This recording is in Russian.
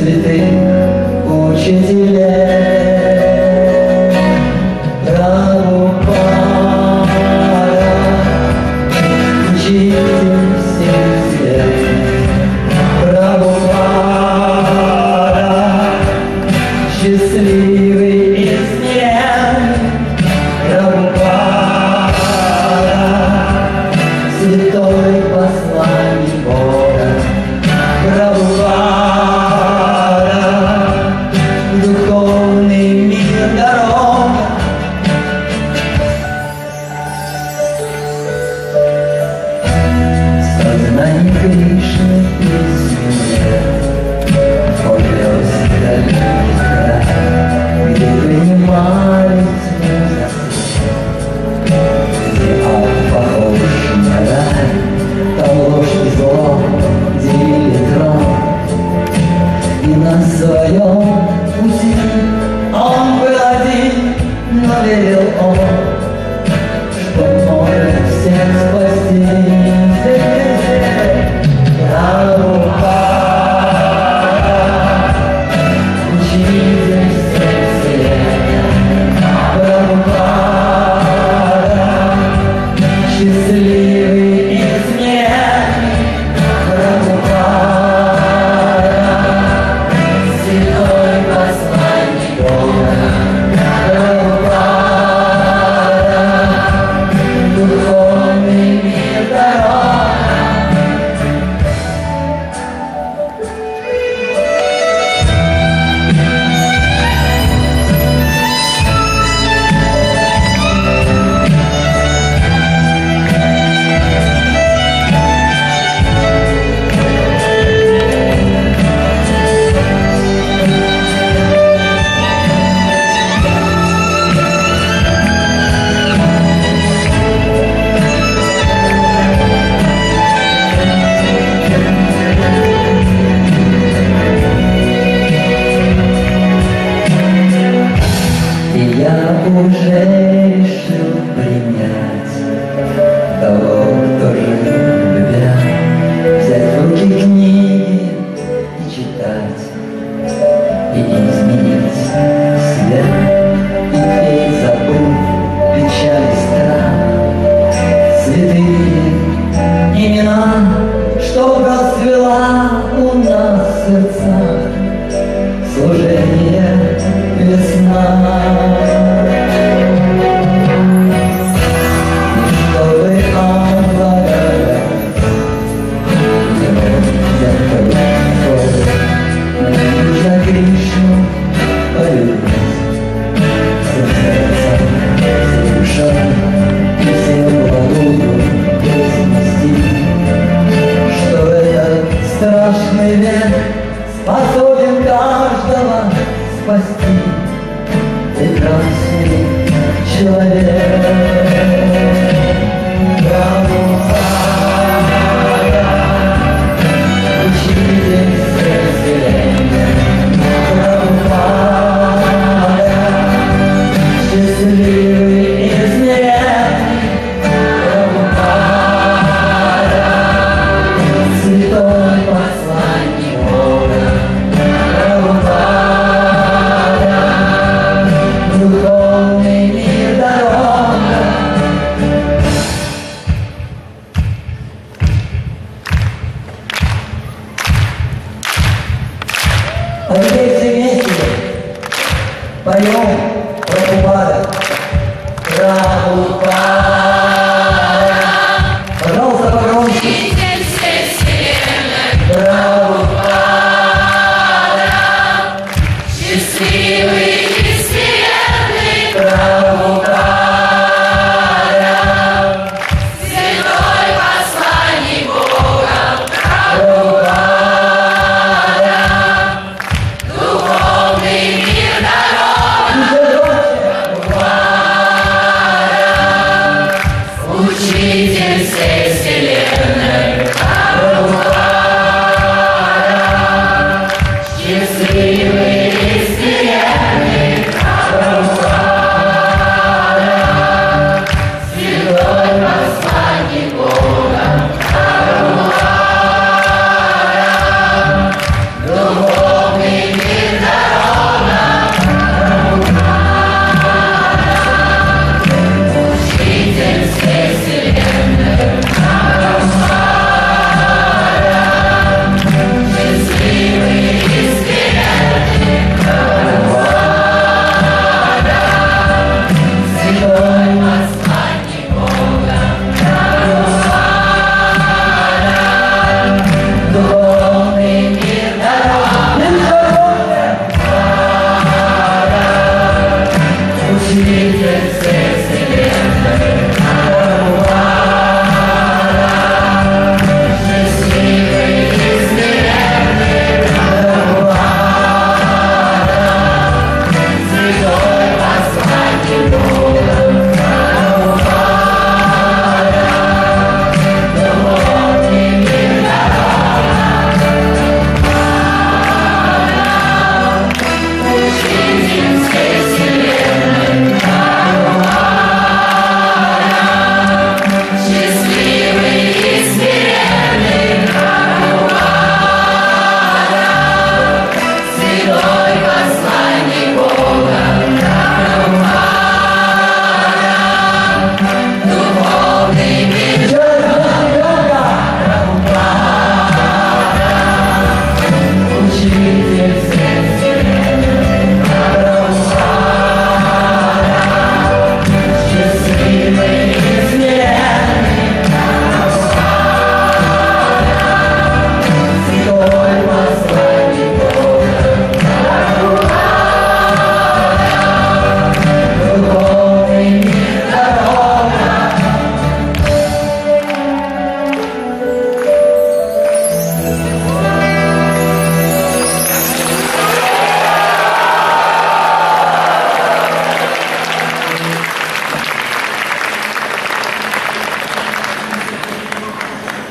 святых учителей. Прабхупада, учитель всех святых. Прабхупада, счастливый и смелый. Прабхупада, святой посланник Бога. Прабхупада, духовный мир дорога. Сознание Кришны песня повез далекий край, где принимают музыку, где ад похож на рай, там ложь и зло делили трон. И на своем пути он был один, но верил он, что может всех спасти. Прабхупада, учитель всех вселенной. Прабхупада, счастливый и смелый. Прабхупада, святой посланник Бога. Прабхупада, духовный мир дорога. И я уже решил принять того, кто жил любя, взять в руки книги и читать, и изменить себя, и петь, забыв печаль и страх. Святые имена, что расцвела у нас в сердцах, служение весна. И чтобы обладать его яркой, нужно Кришну полюбить всем сердцем, всей душой и всем благую вознести, что этот страшный век способен каждого спасти. Прекрасный человек. Прабхупада, учитель всех вселенной. Прабхупада, счастливый и смелый. Прабхупада, святой посланник Бога. Прабхупада, духовный мир дорога. А теперь все вместе поем Прабхупада. Прабхупада. Пожалуйста, погромче. Прабхупада, Счастливый и смиренный. Прабхупада, Святой посланник Бога. Прабхупада, Духовный мир дорога. Учитель всей вселенной. Прабхупада, счастливый